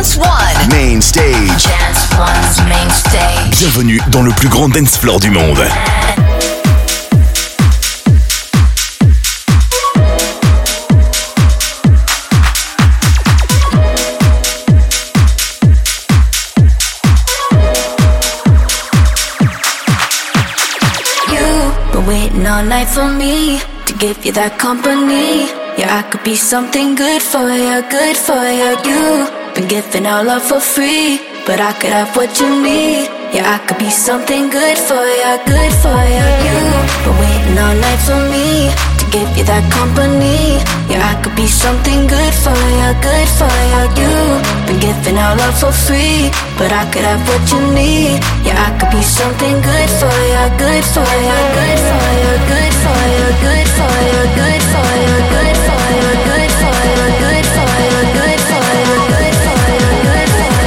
Dance One. Main stage. Dance One's main stage. Bienvenue dans le plus grand dance floor du monde. Waiting all night for me to give you that company. Yeah, I could be something good for you, good for you. You've been giving all love for free, but I could have what you need. Yeah, I could be something good for you, good for you. You've been waiting all night for me to give you that company. Yeah, I could be something good for you, good for you. You've been giving all love for free, but I could have what you need. Yeah, I could be something good for you, good for you, good for you, good for you, good for you, good for you, good for you, good for you, good for you, good for you, good for you, good for you, good for you.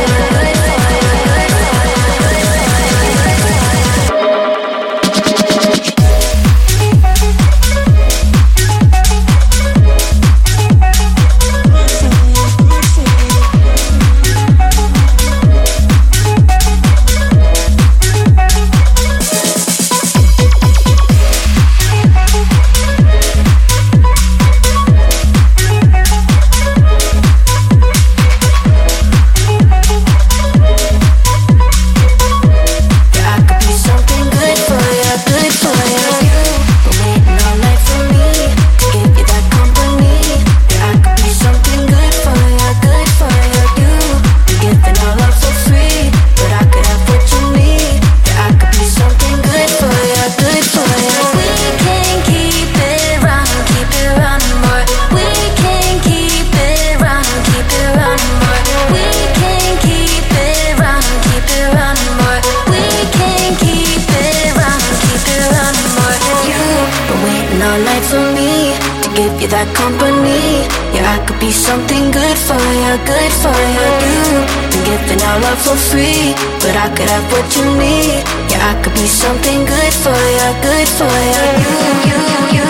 That company, yeah, I could be something good for you, good for you. You've been giving all love for free, but I could have what you need. Yeah, I could be something good for you, good for you.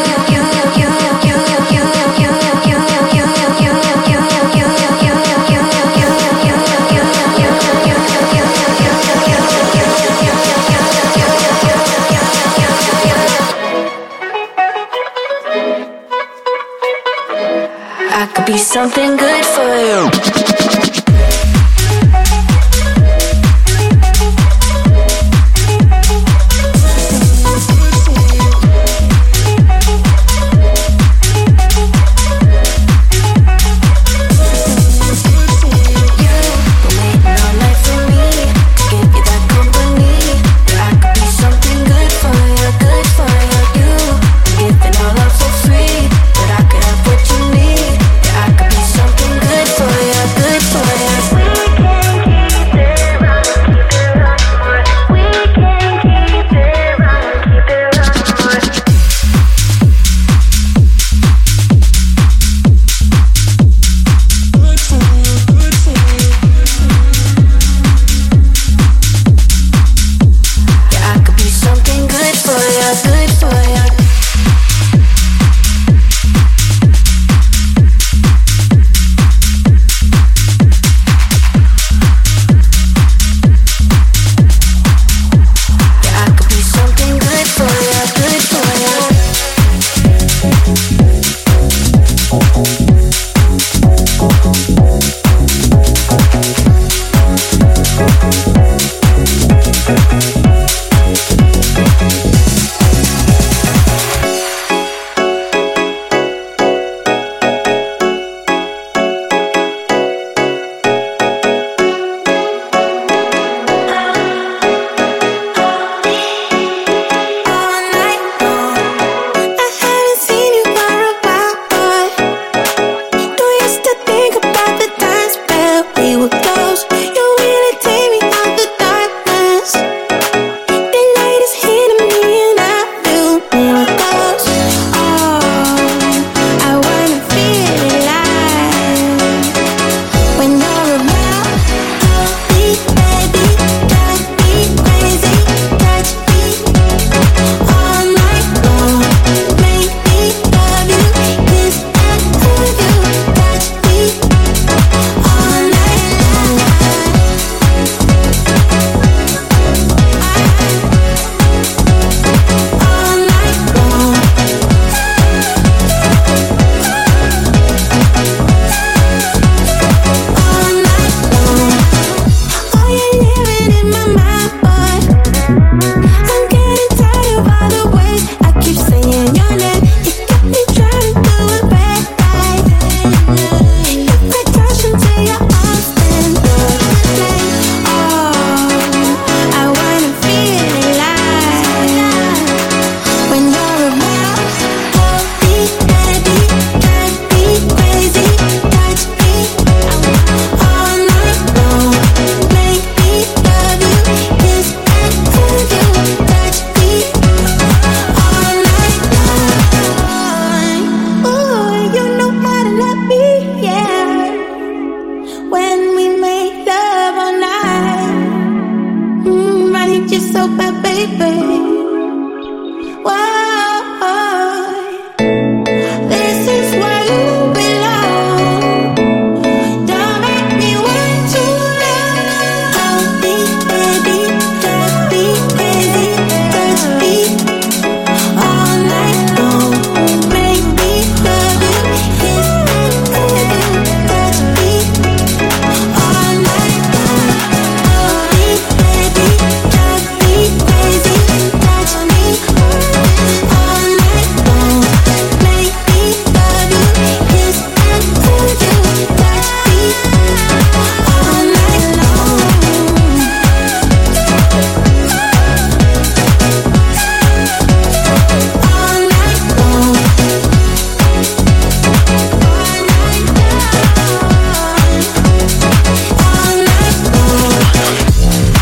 I could be something good for you. Something you so bad, baby. Why? This is where you belong. Don't make me wait too long. I'll be baby, just be crazy, just be all night long. Make me love you, kiss and tell you, just be all night long. I'll be baby, just be crazy, touch me all night long. Make me love you, kiss and tell you, touch me all night long. All night long. All night long.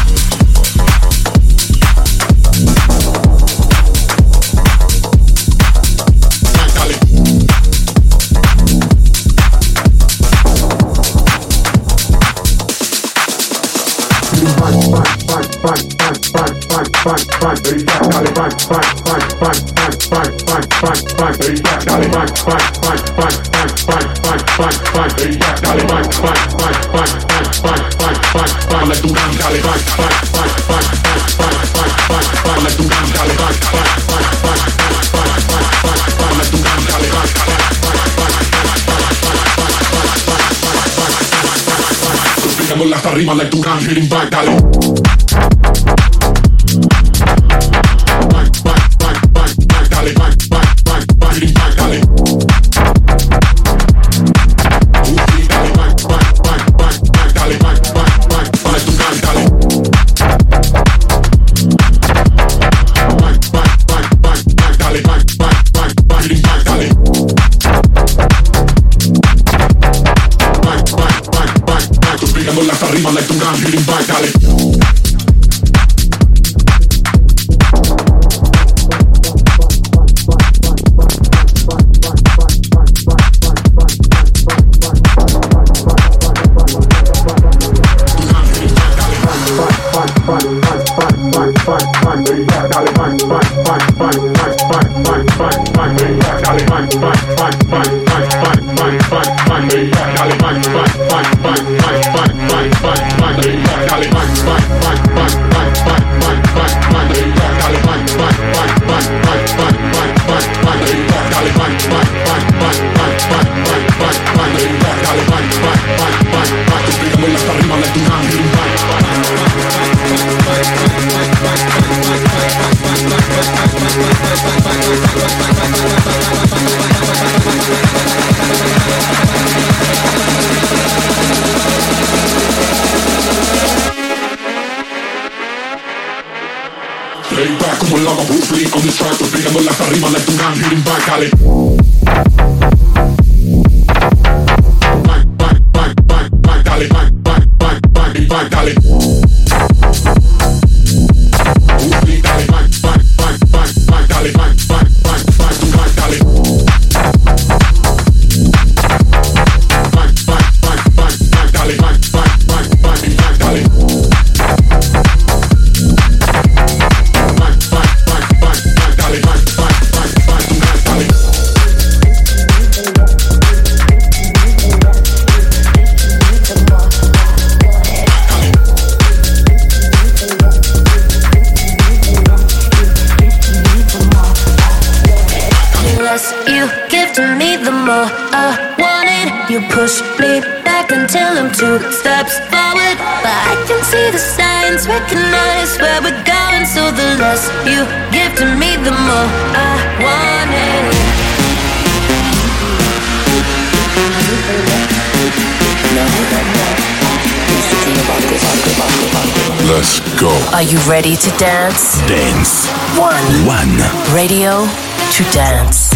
Hasta arriba like Duran, hitting back, dale. Hasta arriba like Duran, hitting back, dale. Playback como el lava Bruce Lee on this track, pegándola hasta arriba like Duran, hitting back, dale. Dale, dale. Bruce Lee, dale, dale, Duran, dale. You push me back until I'm 2 steps forward, but I can see the signs, recognize where we're going. So the less you give to me, the more I want it. Let's go. Are you ready to dance? Dance. One. Radio to dance.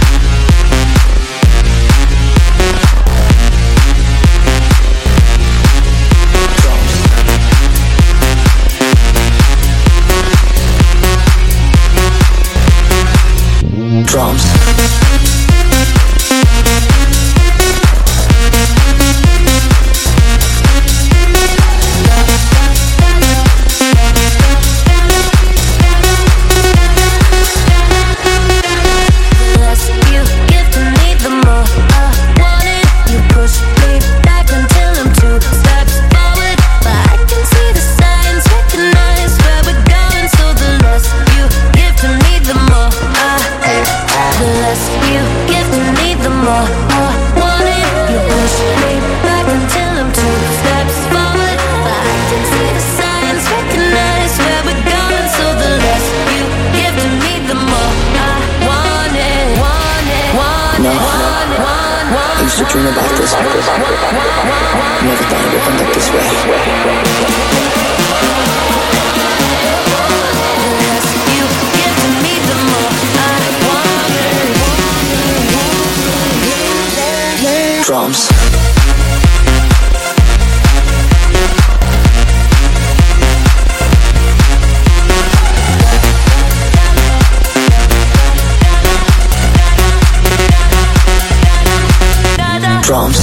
Drums. Never thought it would end up this way. Drums. Drums.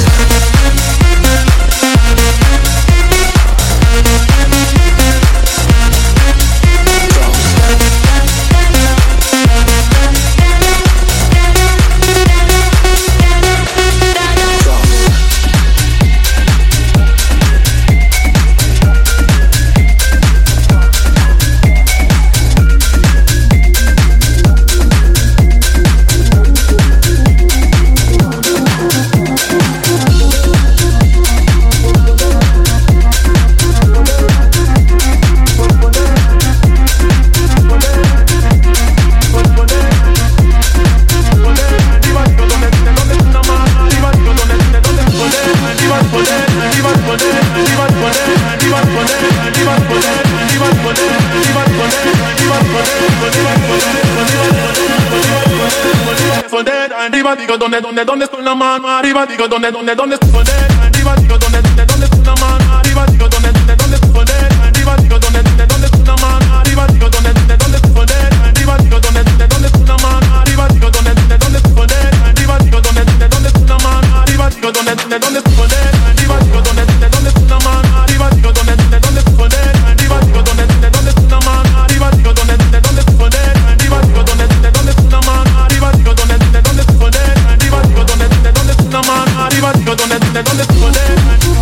Digo dónde está la mano arriba, digo dónde está poder arriba, digo dónde está la mano arriba, digo dónde está poder arriba, digo dónde está la mano arriba, digo dónde está poder arriba, digo dónde está la mano arriba, digo dónde está poder arriba, digo dónde está la mano arriba, digo dónde está poder arriba, digo dónde está la mano arriba, digo dónde está poder arriba, digo dónde está la mano arriba, digo dónde está poder arriba, digo dónde está la mano arriba, digo dónde está poder arriba, digo dónde está la mano arriba, digo dónde está poder.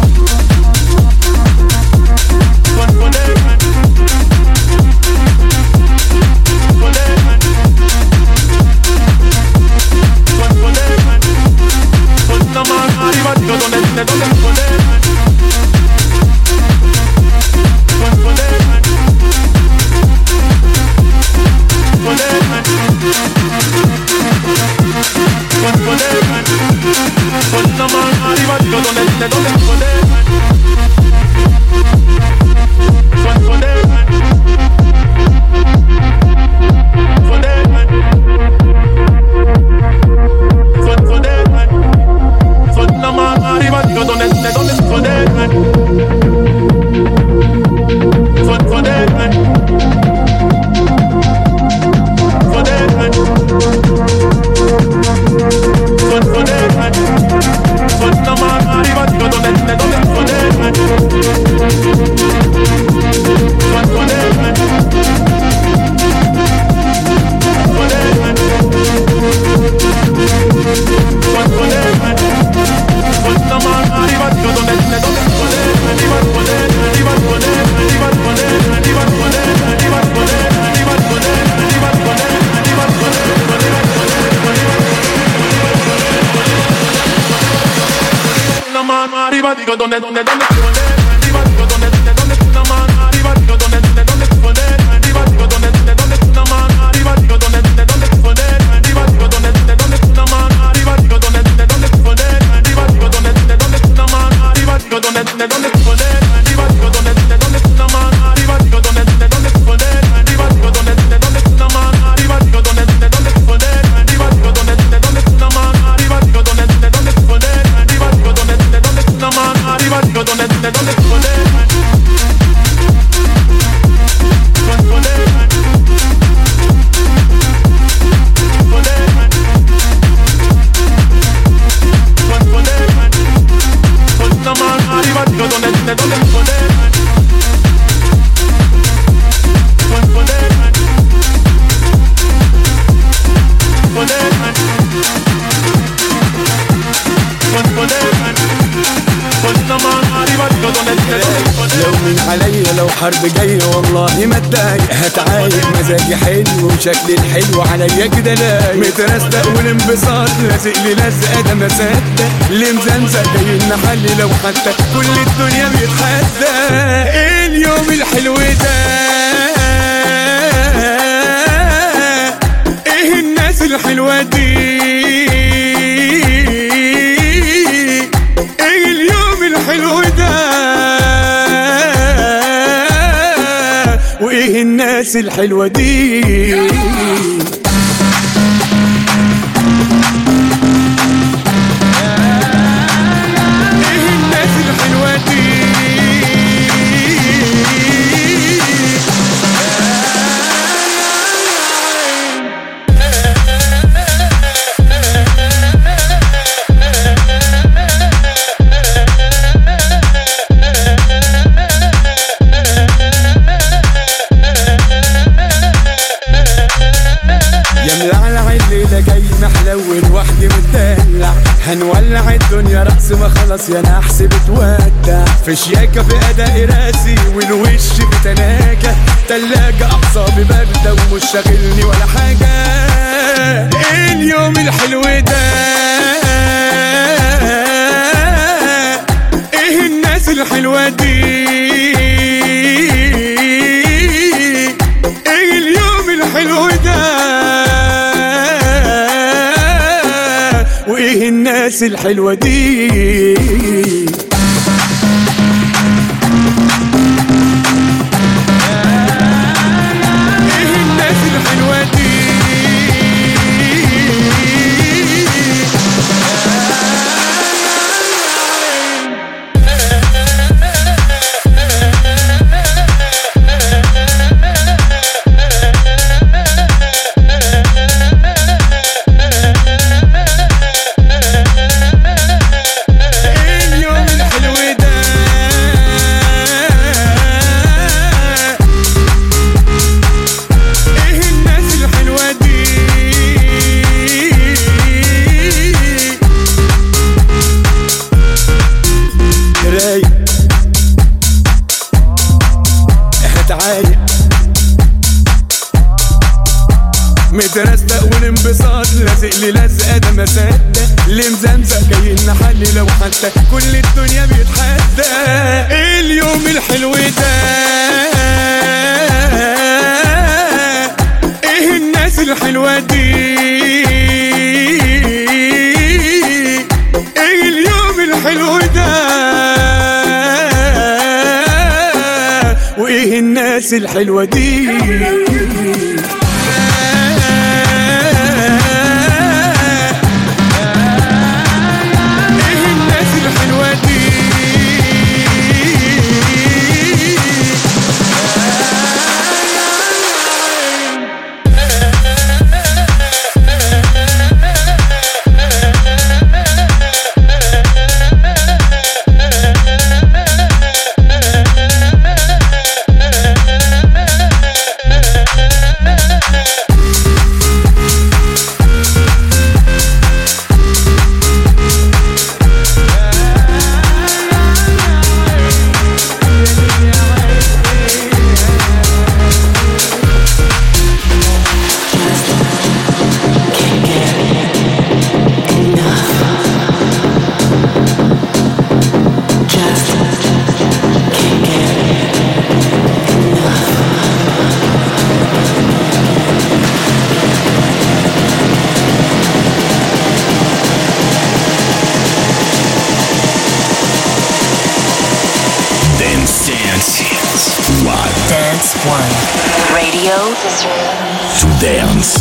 Digo dónde poder arriba, digo dónde está la mano arriba, digo dónde poder arriba, digo dónde está la mano arriba, digo dónde poder arriba, digo dónde está la mano arriba, digo dónde poder arriba, digo dónde está la mano arriba, digo dónde poder arriba, digo dónde está la mano arriba, digo dónde poder arriba, digo dónde está la mano arriba, digo dónde poder arriba, digo dónde está la mano arriba, digo dónde poder arriba, digo dónde la mano arriba, digo dónde poder. La mano arriba, digo dónde poder. لو من عليا لو حرب جاية والله ما اتضايق، هتعايق مزاجي حلو وشكلي الحلو عليا كده لايق، مترستق والانبساط لازق لي لزقة ده ما صدق، اللي مزمزق جاي نحلي لو حتى كل الدنيا بيتحدى. اليوم الحلو ده ايه الناس الحلوة دي، الحلو ده وايه الناس الحلوة دي هنولع الدنيا رأس ما خلص يا نحس بتودع في شياكة في أداء راسي والوش في تناكة تلاجة أعصابي باردة ومش شاغلني ولا حاجة اليوم الحلو ده ايه الناس الحلوة دي ايه اليوم الحلو ده وايه الناس الحلوة دي ايه الناس الحلوة دي مترستق والانبساط لازق لي لزقه ده ما صدق اللي مزمزق جاي نحلي لو حتى كل الدنيا بيتحدى اليوم الحلو ده ايه الناس الحلوه دي ايه اليوم الحلو ده وايه الناس الحلوه دي Dance One. Radio To dance.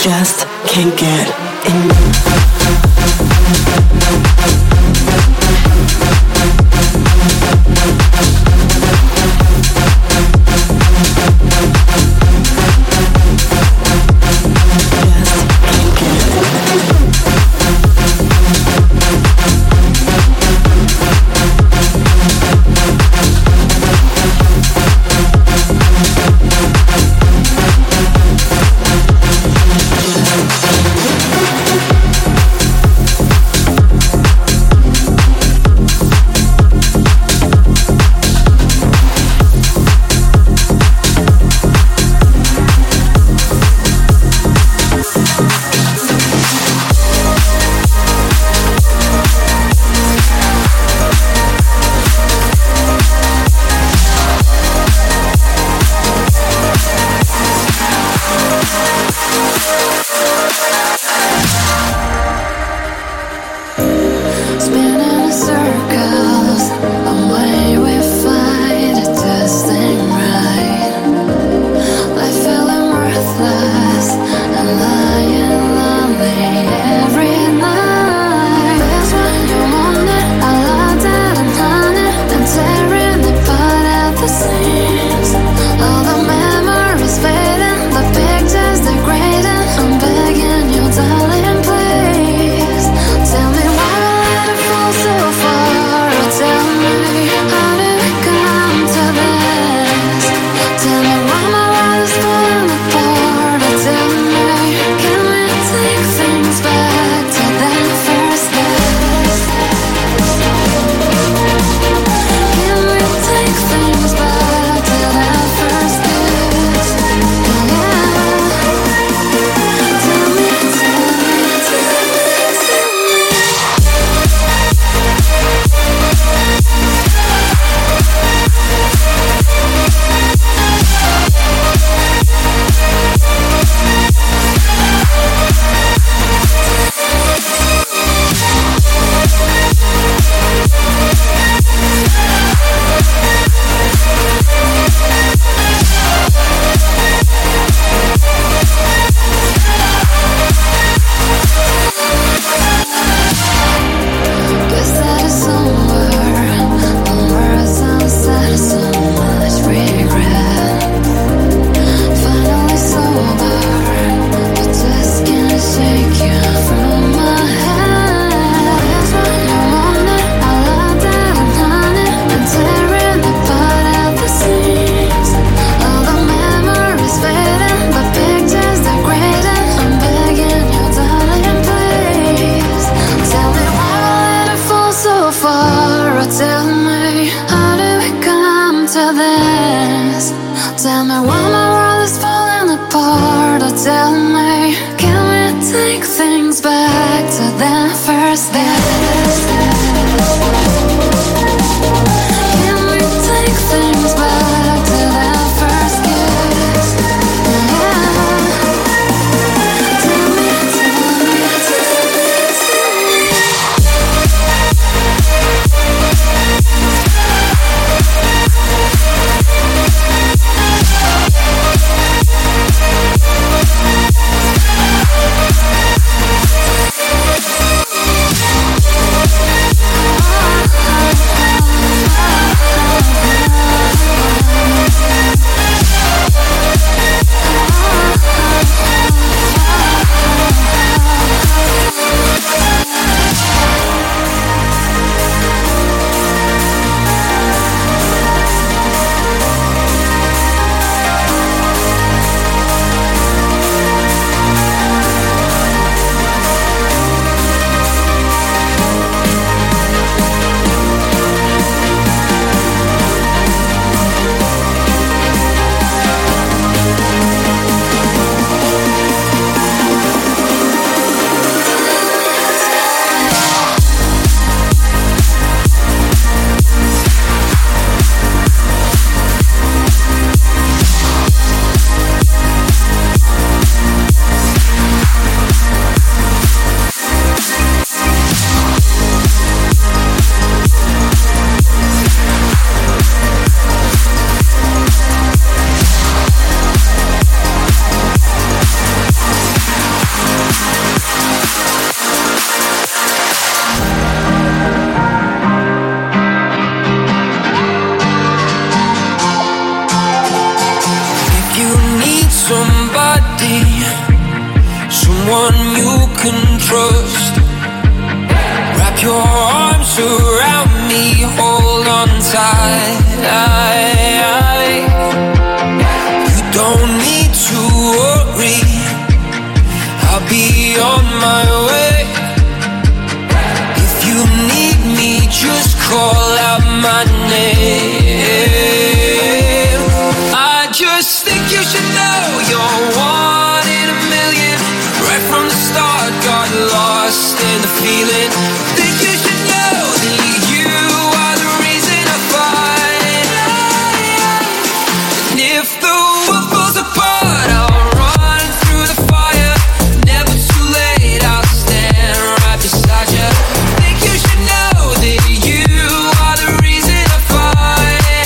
just can't get enough. can trust. Wrap your arms around me, hold on tight. You don't need to worry, I'll be on my way. If you need me, just call out my name. I just think you should know you're one in a million. Right from the start, got lost in the feeling. Think you should know that you are the reason I fight. And if the world falls apart, I'll run through the fire. Never too late, I'll stand right beside you. Think you should know that you are the reason I fight.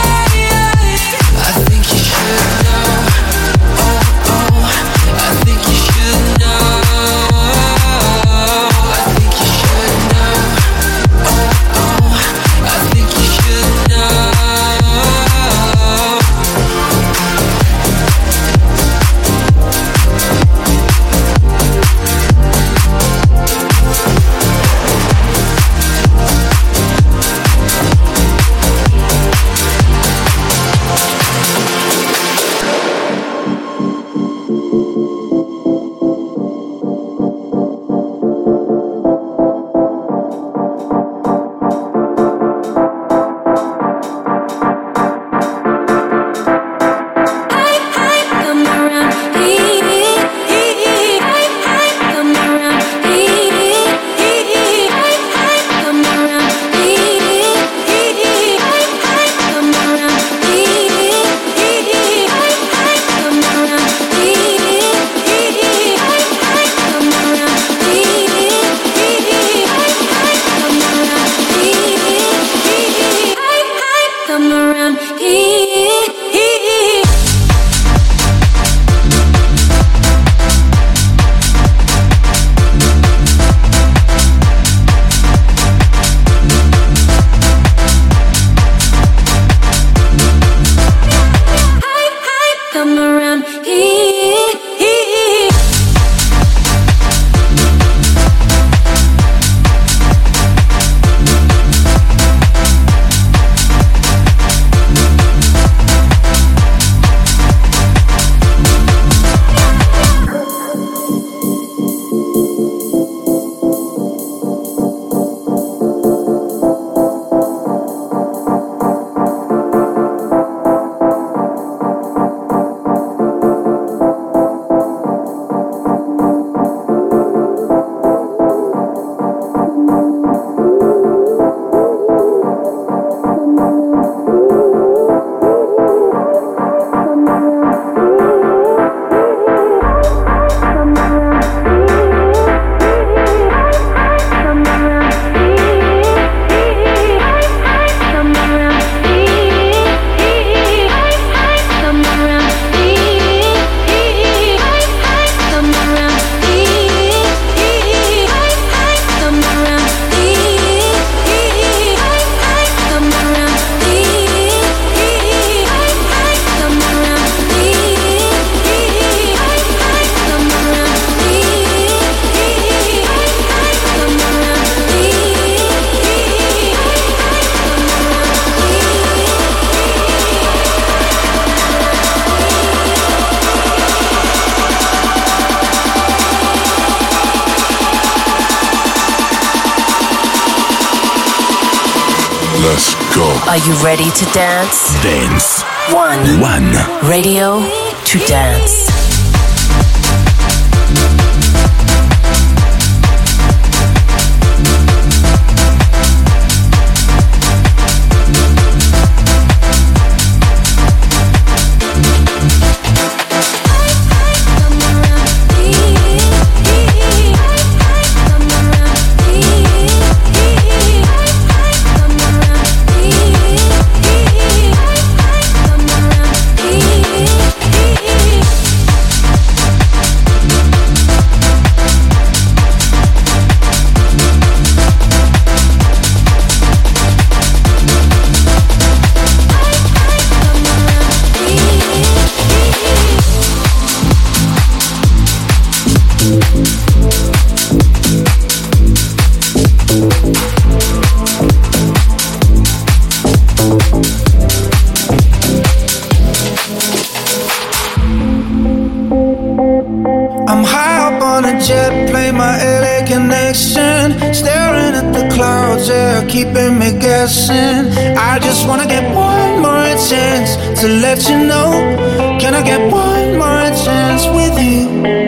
I think you should know. Oh, oh, I think you should know. I think you should know. Oh, oh, I think you should know. Let's go. Are you ready to dance? Dance. One. Radio to dance. keeping me guessing. I just wanna get one more chance to let you know. Can I get one more chance with you?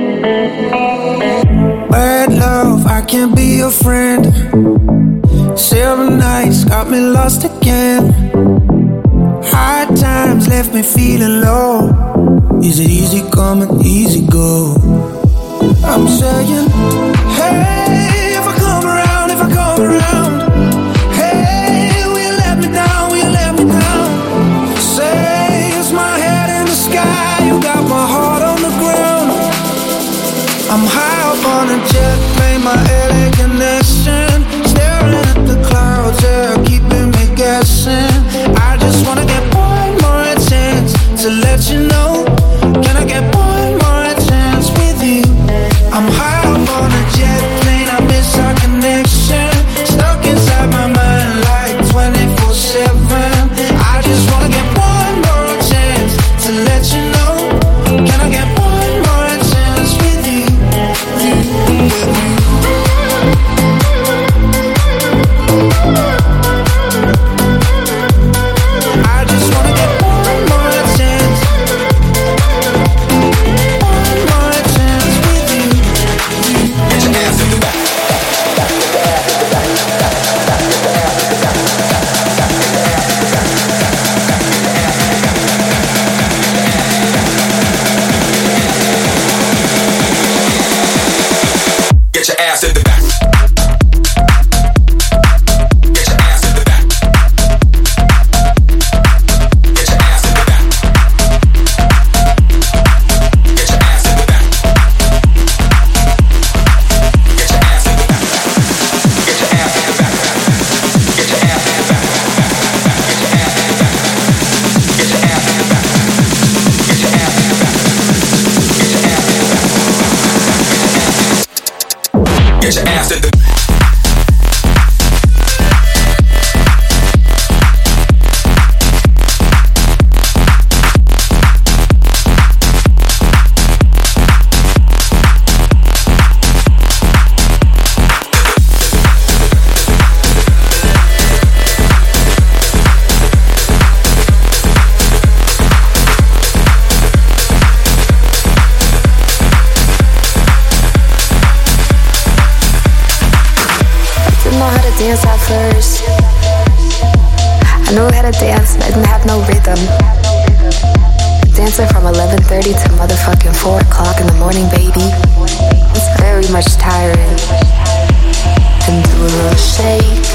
Bad love, I can't be your friend. 7 nights got me lost again. Hard times left me feeling low. Is it easy come and easy go? I'm saying, hey, if I come around, hey, will you let me down, will you let me down? Say, it's my head in the sky, you got my heart on the ground. I'm high up on a jet plane, my LA connection. Staring at the clouds, yeah, keeping me guessing. I just wanna get one more chance to let you know. Can I get one more chance with you? I'm high up on a jet plane, I miss our connection. Stuck inside my mind like 24/7. I just wanna get one more chance to let you know. Can I get one more chance with you? I just wanna get one more chance. One more chance with you. Get your ass in the back. Get your ass in the back. Get your ass in the back. Get your ass in the back. Get your ass in the back. Get your ass in the back. Get your ass in the back. Get your ass in the back. Get your ass in the back. Get your ass in the back. Get your ass in the back. Get your ass in the back. Dance at first. I knew how to dance, but I didn't have no rhythm. Dancing from 11:30 to motherfucking 4 o'clock in the morning, baby. It's very much tiring. And do a little shake.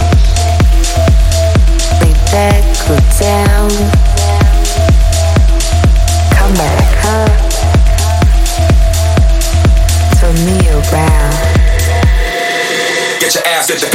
Lay back, go down. Come back up. Turn me around. Get your ass in the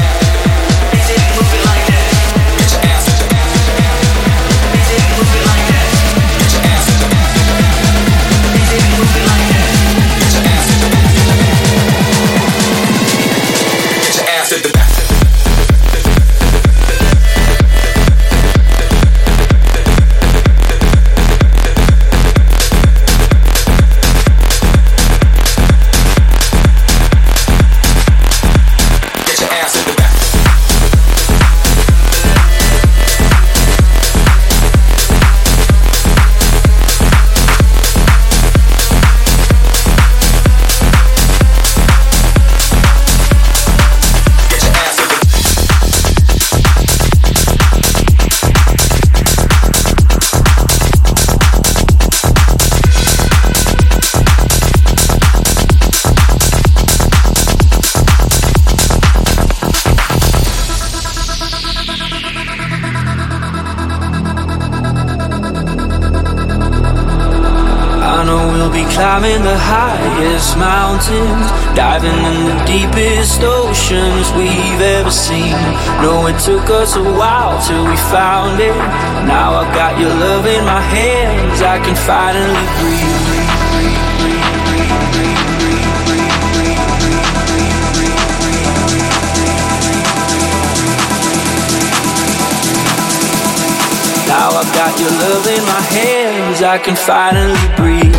climbing the highest mountains, diving in the deepest oceans we've ever seen. No, it took us a while till we found it. Now I got your love in my hands, I can finally breathe. Now I've got your love in my hands, I can finally breathe.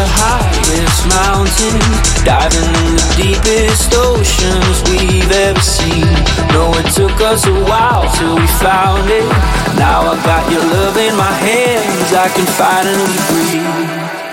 highest mountains, diving in the deepest oceans we've ever seen. No, it took us a while till we found it. Now I got your love in my hands, I can finally breathe.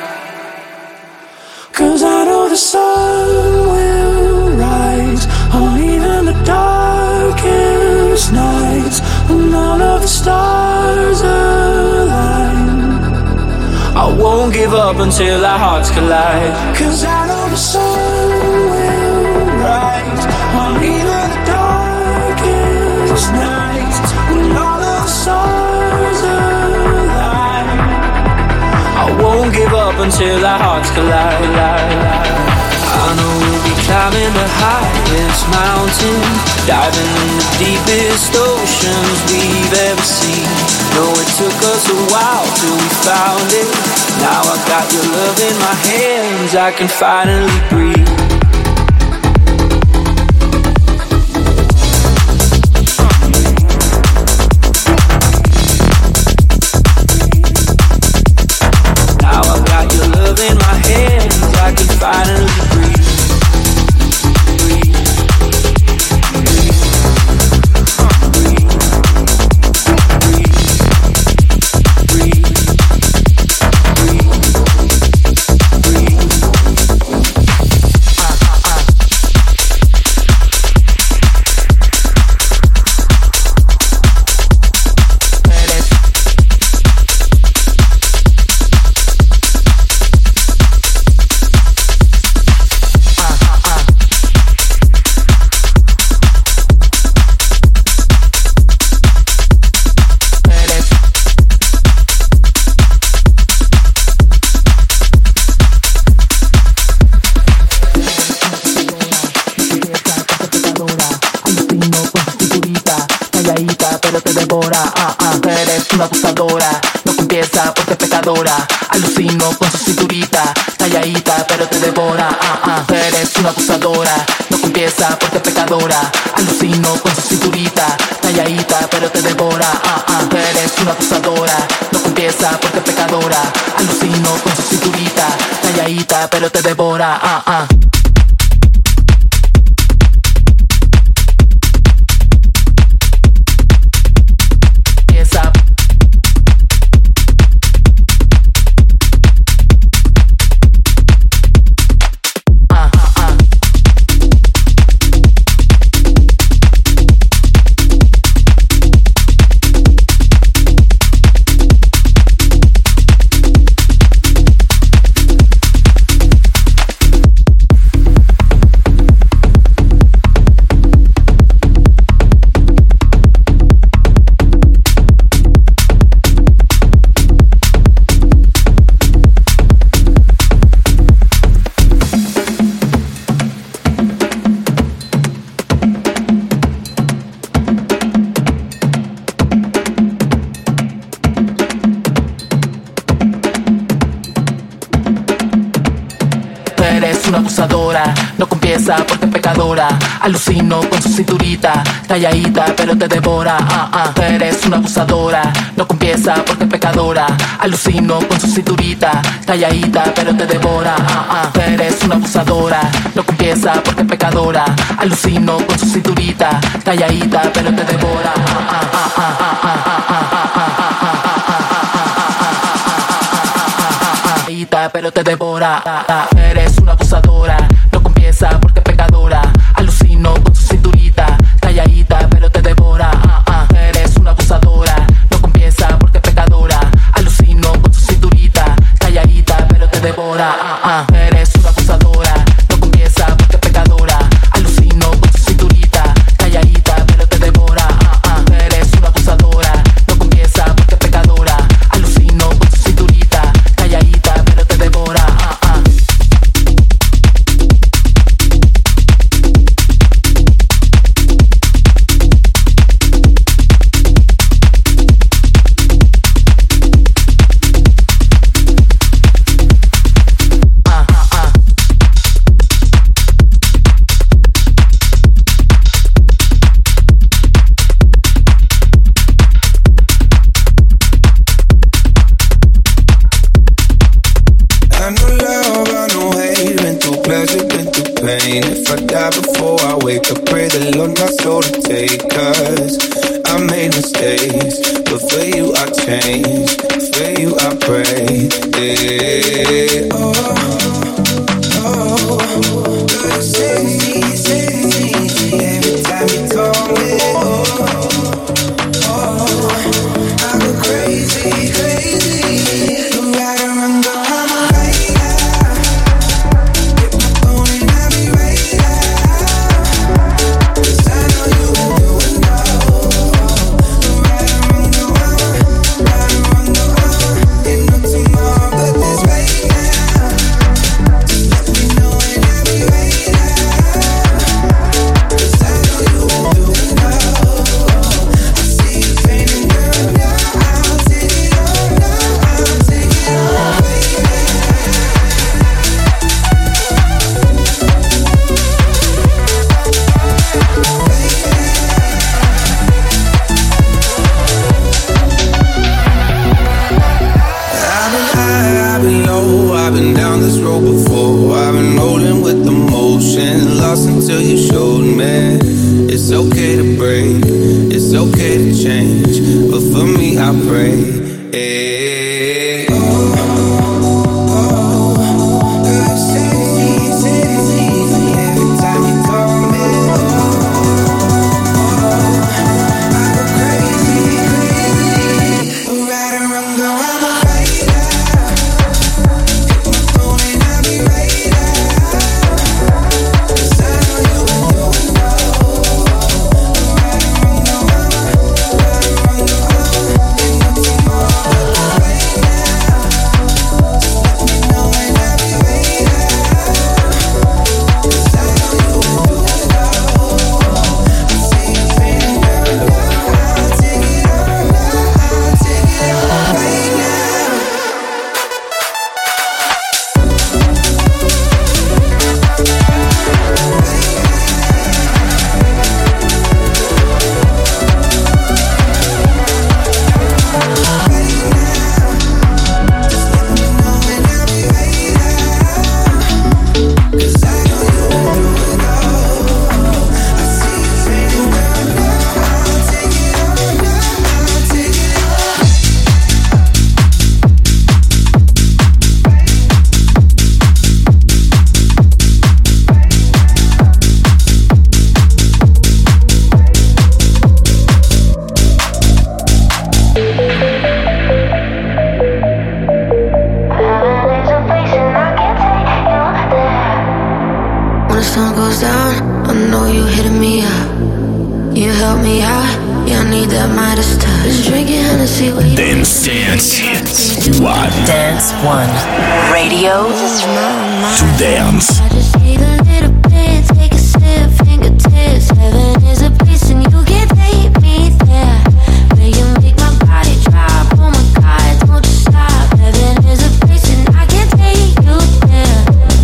'Cause I know the sun will rise on even the darkest nights, when all of the stars align. I won't give up until our hearts collide. 'Cause I know the sun will rise on even the darkest nights, when all of the stars align. I won't give up until our hearts collide. I know we'll be climbing the highest mountain, diving in the deepest oceans we've ever seen. No, it took us a while till we found it. Now I got your love in my hands, I can finally breathe. Now I got your love in my hands, I can finally breathe. Una abusadora, no confiesa porque es pecadora. Alucino con su cinturita, calladita pero te devora. Eres una abusadora, no confiesa porque es pecadora. Alucino con su cinturita, calladita pero te devora. Eres una abusadora, no confiesa porque es pecadora. Alucino con su cinturita, calladita pero te devora. No confiesa porque es pecadora. Alucino con su cinturita, calladita pero te devora. Eres una abusadora, no confiesa porque es pecadora. Alucino con su cinturita, calladita pero te devora. Eres una abusadora, no confiesa porque es pecadora. Alucino con su cinturita, calladita pero te devora. Pero te devora. Eres una abusadora, no confiesa porque es pecadora. Alucino con su cinturita, calladita pero te devora. Eres una abusadora, no confiesa porque es pecadora. Alucino con su cinturita, calladita pero te devora. Eres una abusadora, no confiesa porque es pecadora. Alucino con su cinturita, calladita pero te devora. Eres una abusadora, no confiesa porque es pecadora. Alucino con su cinturita, calladita pero te devora. for you I change, for you I pray. Yeah. Oh, oh, girl, you say every time you call me. Oh, I go crazy, crazy. You ride around, go on my radar. Get my phone and I'll be right there. 'Cause I know you been doing all. You ride around, go on, ride around, go on. Ain't no tomorrow but this right now. Just let me know and I'll be right there. 'Cause I know you been doing all. I see you painting, girl, now I'll take it all, now I'll take it all, I've been high, I've been low, I've been down this road before. I've been rolling with the motion, lost until you showed me. It's okay to break, it's okay to change, but for me I pray. Hey. Oh, girl, you say every time you call me. I go crazy, crazy. Right around, go on my radar. Hit my phone and I'll be right there. 'Cause I know you been doing all. Right around, go on, right around, go on. Ain't no tomorrow but this right now. Just let me know and I'll be right there. 'Cause I know you been doing all. I see you fading, girl, now I'll take it all, now I'll take it all right now. When the sun goes down, I know you hitting me up. You help me out, yeah, I need that Midas touch. Been drinking Hennessy, waiting. Dance One. Dance One. Radio to dance. I just need a little bit, take a sip, fingertips. Heaven is a place and you can take me there. Where you make my body drop, oh my God, don't you stop. Heaven is a place and I can take you there.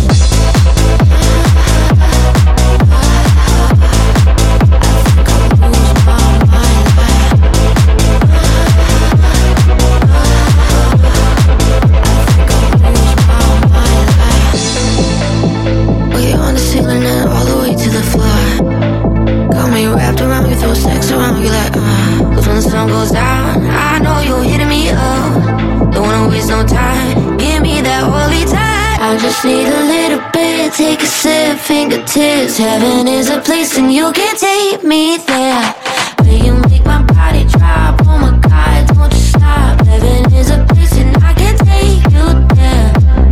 We're on the ceiling and all the way to the floor. Got me wrapped around me, throw sex around me like, 'Cause when the sun goes down, I know you're hitting me up. Don't wanna waste no time, give me that holy time. I just need a little bit, take a sip, fingertips. Heaven is a place and you can take me there. Where you make my body drop, oh my God, don't you stop. Heaven is a place and I can take you there.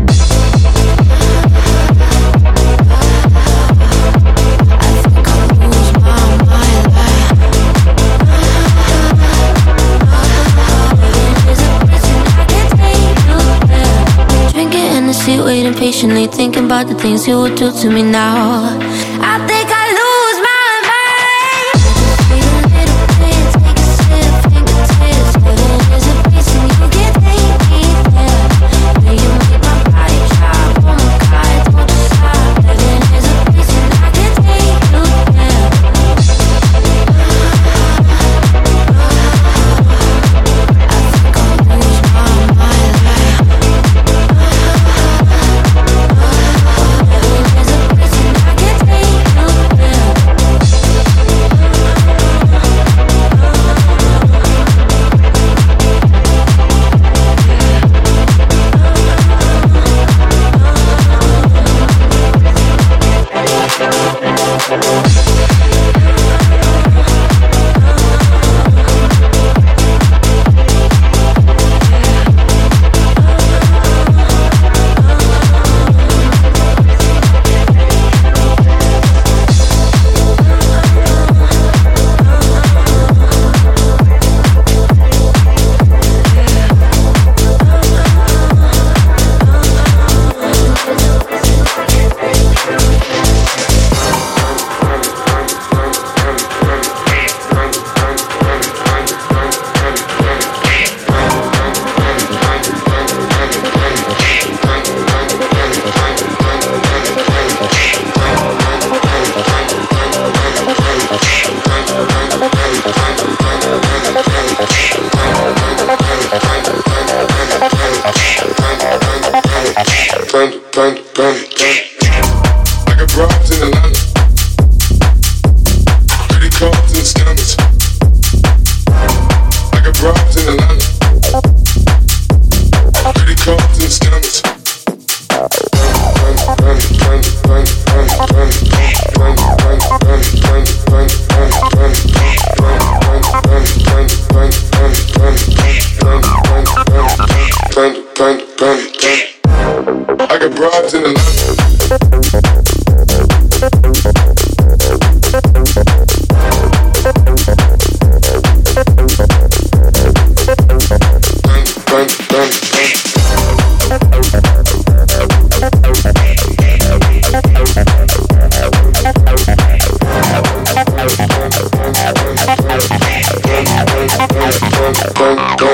Waiting patiently, thinking about the things you would do to me now. I think I lose my mind. Need a little bit, take a sip, fingertips. Heaven is a place and you can take me there. Where you make my body drop, oh my God, don't you stop. Heaven is a place and I can take you there. I think I'll lose my mind.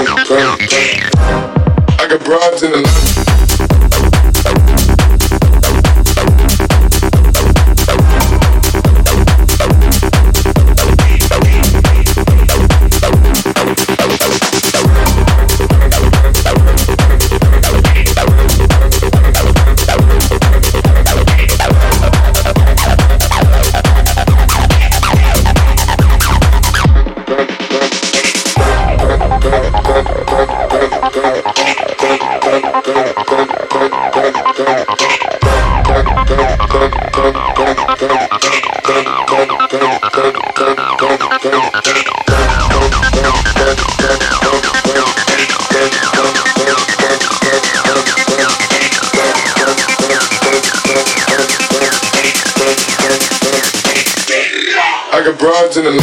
I got broads in the I got broads in the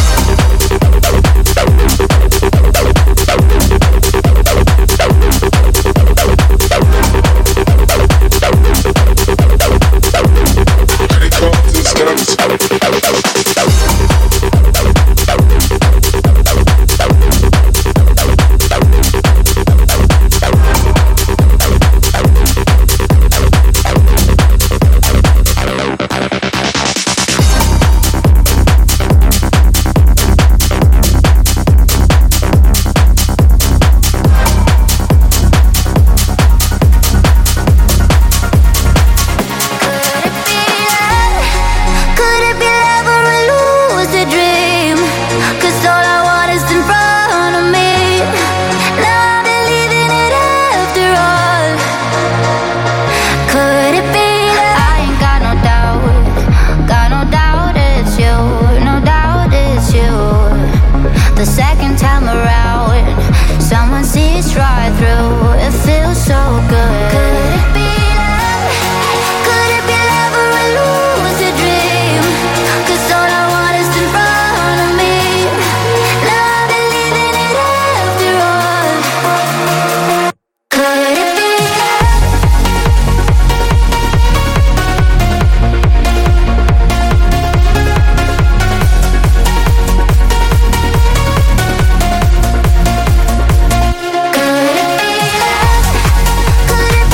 Could it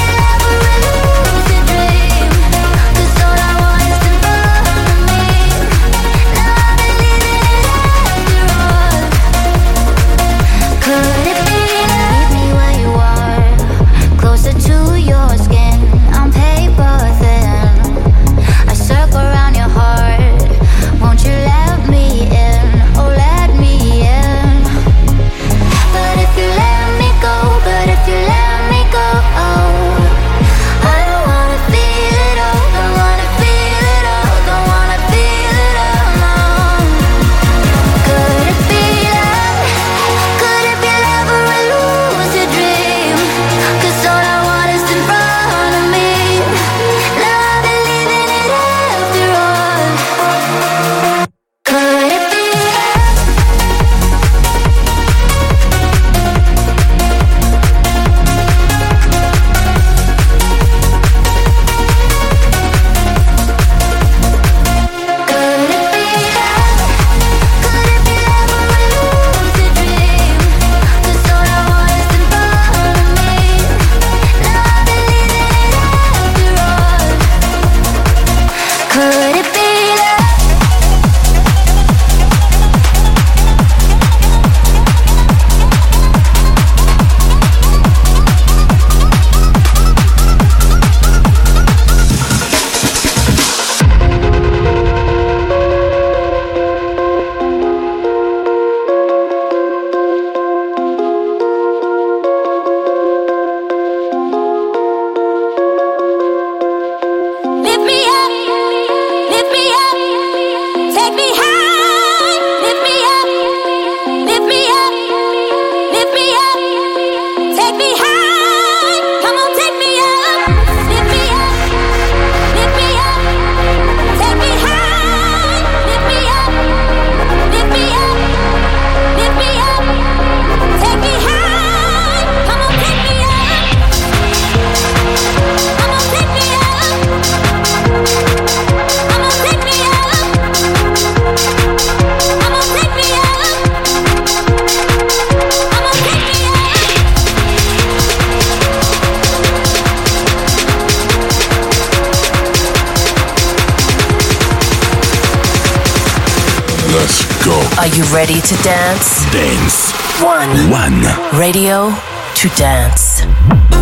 you ready to dance? Dance. One. One. Radio to dance.